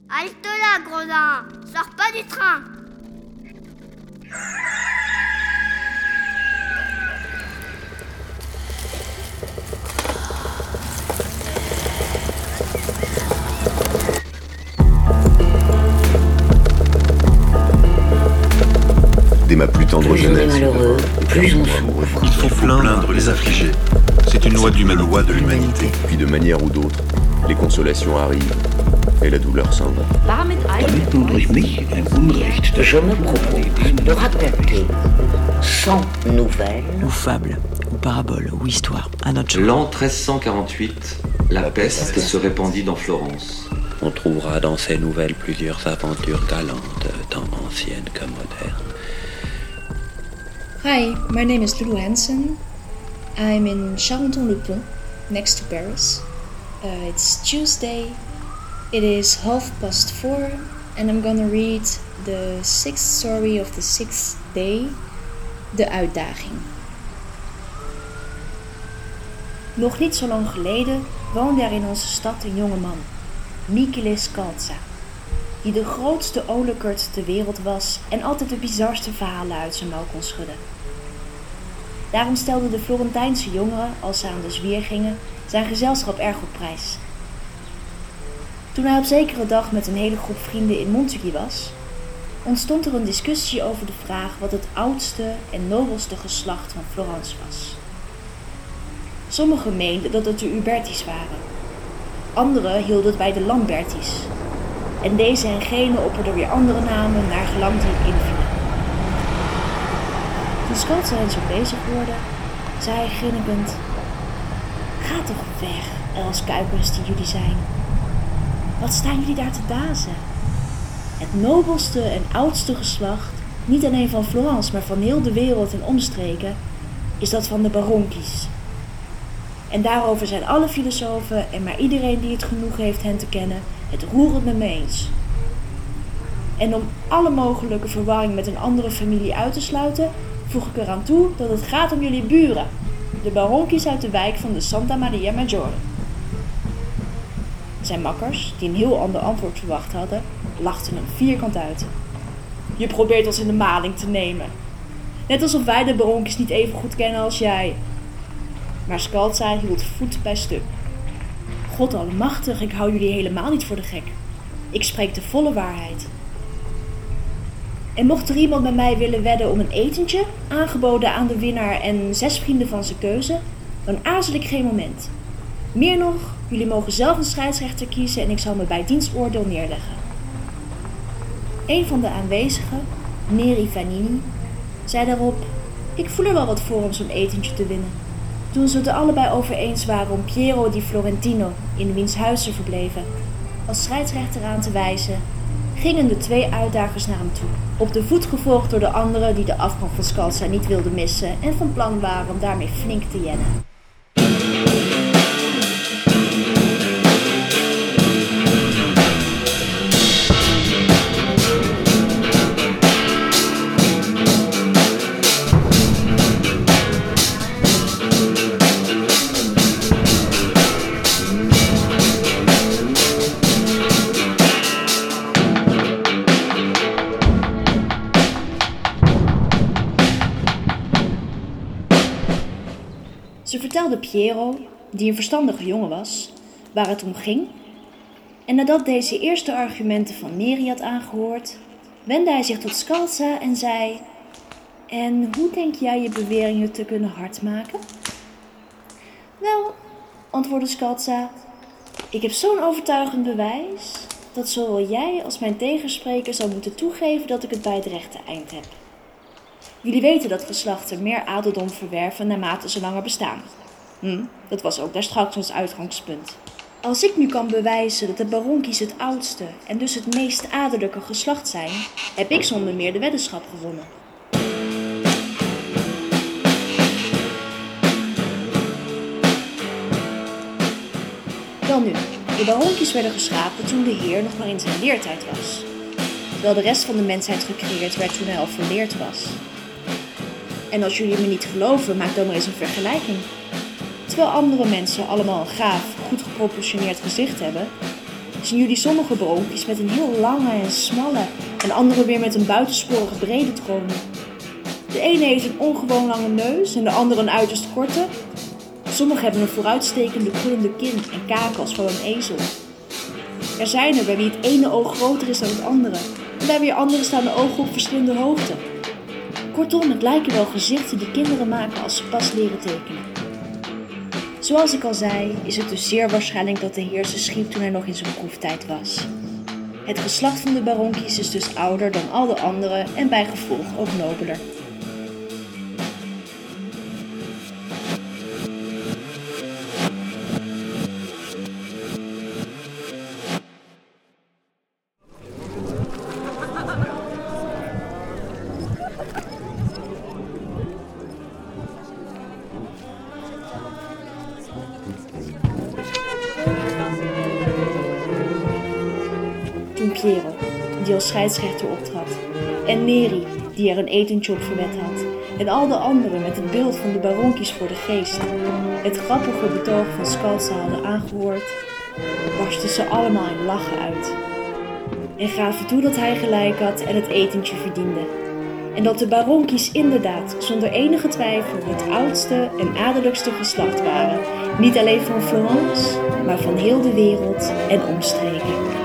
Halte là, gredin! Sors pas du train! Dès ma plus tendre jeunesse, malheureux, plus on souffre. Il faut plaindre les affligés. C'est une loi de l'humanité. Puis de manière ou d'autre, les consolations arrivent et la douleur s'en va. Damit nun durch mich ein Unrecht. Je me propose de raconter 100 nouvelles ou fables, ou paraboles, ou histoires, à notre genre. L'an 1348, la peste se répandit dans Florence. On trouvera dans ces nouvelles plusieurs aventures galantes, tant anciennes que modernes. Hi, my name is Lulu Hansen. I'm in Charenton-le-Pont, next to Paris. It's Tuesday. It is 4:30, and I'm gonna read the 6th story of the 6th day, De Uitdaging. Nog niet zo lang geleden woonde er in onze stad een jonge man, Michele Scalza, die de grootste olekert ter wereld was en altijd de bizarste verhalen uit zijn mouw kon schudden. Daarom stelden de Florentijnse jongeren, als ze aan de zwier gingen, zijn gezelschap erg op prijs. Toen hij op zekere dag met een hele groep vrienden in Montigny was, ontstond er een discussie over de vraag wat het oudste en nobelste geslacht van Florence was. Sommigen meenden dat het de Uberti's waren. Anderen hielden het bij de Lamberti's. En deze en gene opperden weer andere namen naar gelang die invielen. Toen Scalza hen zo bezig hoorde, zei hij grinnikend: "Ga toch weg, uilskuikens die jullie zijn. Wat staan jullie daar te dazen? Het nobelste en oudste geslacht, niet alleen van Florence, maar van heel de wereld en omstreken, is dat van de Baronkies. En daarover zijn alle filosofen en maar iedereen die het genoeg heeft hen te kennen het roerend met me eens. En om alle mogelijke verwarring met een andere familie uit te sluiten, voeg ik eraan toe dat het gaat om jullie buren, de Baronkies uit de wijk van de Santa Maria Maggiore." Zijn makkers, die een heel ander antwoord verwacht hadden, lachten hem vierkant uit. "Je probeert ons in de maling te nemen. Net alsof wij de Baronkies niet even goed kennen als jij." Maar Scalza hield voet bij stuk. "God allemachtig, ik hou jullie helemaal niet voor de gek. Ik spreek de volle waarheid. En mocht er iemand met mij willen wedden om een etentje, aangeboden aan de winnaar en 6 vrienden van zijn keuze, dan aarzel ik geen moment. Meer nog, jullie mogen zelf een scheidsrechter kiezen en ik zal me bij diens oordeel neerleggen." Een van de aanwezigen, Neri Vanini, zei daarop: "Ik voel er wel wat voor om zo'n etentje te winnen." Toen ze het er allebei over eens waren om Piero di Florentino, in wiens huis ze verbleven, als scheidsrechter aan te wijzen, gingen de 2 uitdagers naar hem toe, op de voet gevolgd door de anderen die de afgang van Scalza niet wilden missen en van plan waren om daarmee flink te jennen. Ze vertelde Piero, die een verstandige jongen was, waar het om ging. En nadat deze eerste argumenten van Neri had aangehoord, wendde hij zich tot Scalza en zei: "En hoe denk jij je beweringen te kunnen hardmaken?" "Wel," antwoordde Scalza, "ik heb zo'n overtuigend bewijs, dat zowel jij als mijn tegenspreker zal moeten toegeven dat ik het bij het rechte eind heb. Jullie weten dat geslachten meer adeldom verwerven naarmate ze langer bestaan. Dat was ook daarstraks ons uitgangspunt. Als ik nu kan bewijzen dat de Baronkies het oudste en dus het meest adellijke geslacht zijn, heb ik zonder meer de weddenschap gewonnen." Welnu, de Baronkies werden geschapen toen de Heer nog maar in zijn leertijd was, terwijl de rest van de mensheid gecreëerd werd toen hij al volleerd was. En als jullie me niet geloven, maak dan maar eens een vergelijking. Terwijl andere mensen allemaal een gaaf, goed geproportioneerd gezicht hebben, zien jullie sommige baronkies met een heel lange en smalle en andere weer met een buitensporig brede tronie. De ene heeft een ongewoon lange neus en de andere een uiterst korte. Sommigen hebben een vooruitstekende krullende kin en kaken als van een ezel. Er zijn er bij wie het ene oog groter is dan het andere en bij weer anderen staan de ogen op verschillende hoogte. Kortom, het lijken wel gezichten die kinderen maken als ze pas leren tekenen. Zoals ik al zei, is het dus zeer waarschijnlijk dat de heer ze schiep toen hij nog in zijn proeftijd was. Het geslacht van de baronkies is dus ouder dan al de anderen en bij gevolg ook nobeler. Piero, die als scheidsrechter optrad, en Neri, die er een etentje op verwed had, en al de anderen met het beeld van de baronkies voor de geest, het grappige betoog van Scalza hadden aangehoord, barstten ze allemaal in lachen uit. En gaven toe dat hij gelijk had en het etentje verdiende. En dat de baronkies inderdaad, zonder enige twijfel, het oudste en adellijkste geslacht waren, niet alleen van Florence, maar van heel de wereld en omstreken.